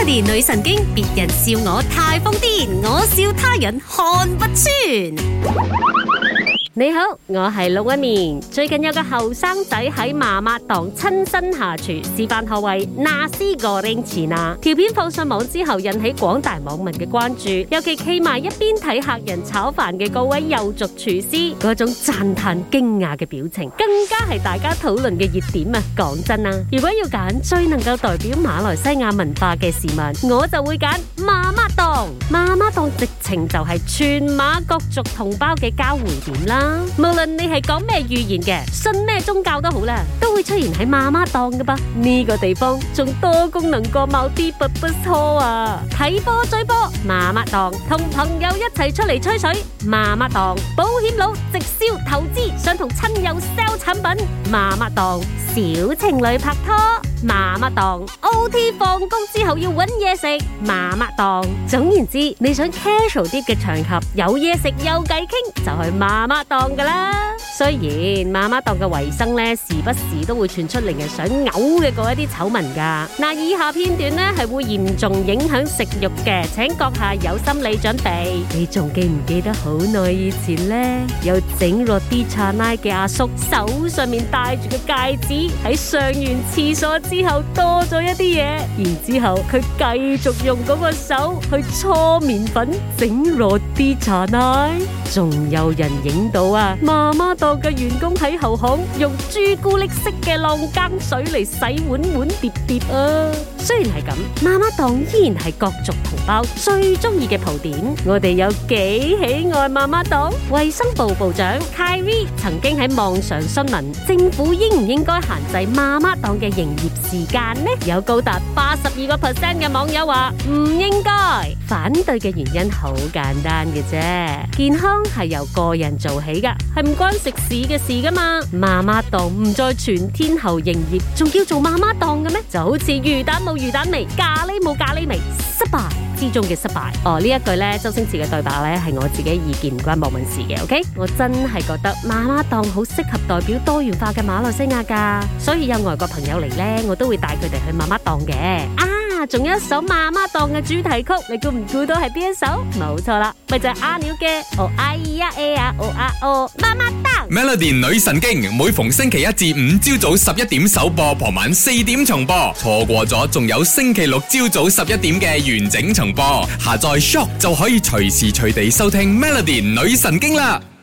Melody 女神經，別人笑我太瘋癲，我笑他人看不穿。你好，我係龍紋敏。最近有個後生仔喺媽媽檔親身下廚示範何謂nasi goreng Cina。條片放上網之後，引起廣大網民嘅關注。尤其企埋一邊睇客人炒飯嘅嗰位友族廚師，嗰種讚嘆驚訝嘅表情，更加係大家討論嘅熱點啊！講真啊，如果要揀最能夠代表馬來西亞文化嘅事物，我就會揀媽媽檔。媽媽檔直情就係全馬各族同胞嘅交匯點啦。無論你係講咩語言嘅，信咩宗教都好啦，都會出現喺媽媽檔㗎噃。呢個地方仲多功能過某啲不錯啊！睇波追波，媽媽檔；同朋友一齊出嚟吹水，媽媽檔；保險佬直銷投資，想同親友 sell 產品，媽媽檔；小情侶拍拖，媽媽檔；OT 放工之後要搵嘢食，媽媽檔。總言之，你想 casual 啲嘅場合，有嘢食有偈傾，就去媽媽檔噶啦。雖然媽媽檔嘅衛生咧，時不時都會傳出令人想嘔嘅嗰一啲醜聞噶。嗱，以下片段咧係會嚴重影響食慾嘅，請閣下有心理準備。你仲記唔記得好耐以前咧，有整落啲茶奶嘅阿叔手上面戴住嘅戒指，喺上完廁所之後多咗一啲嘢，然之後佢繼續用嗰個手去搓麵粉整落啲茶奶，仲有人影到啊媽媽檔嘅員工喺後巷用朱古力色嘅浪羹水嚟洗碗碗碟碟啊！雖然係咁，媽媽檔依然係各族同胞最中意嘅蒲點。我哋有幾喜愛媽媽檔？衛生部部長 Khairy 曾經喺網上詢問政府應唔應該限制媽媽檔嘅營業時間呢？有高達82% 嘅網友話唔應該。反對嘅原因好簡單嘅啫，健康係由個人做起噶，係唔關食肆嘅事噶嘛。媽媽檔唔再全天候營業，仲叫做媽媽檔嘅咩？就好似魚蛋冇魚蛋味，咖喱冇咖喱味，失敗之中嘅失敗。呢一句咧，周星馳嘅對白咧係我自己意見，唔關網民事嘅。OK， 我真係覺得媽媽檔好適合代表多元化嘅馬來西亞噶，所以有外國朋友嚟咧，我都會帶佢哋去媽媽檔嘅。仲有一首媽媽檔嘅主題曲，你估唔估到係邊一首？冇錯啦，咪就係阿鳥嘅哦哎呀哎呀哦啊哦媽媽檔。 Melody 女神經每逢星期一至五朝早11點首播，傍晚4點重播。錯過咗仲有星期六朝早11點嘅完整重播。下載 Shock 就可以隨時隨地收聽 Melody 女神經啦。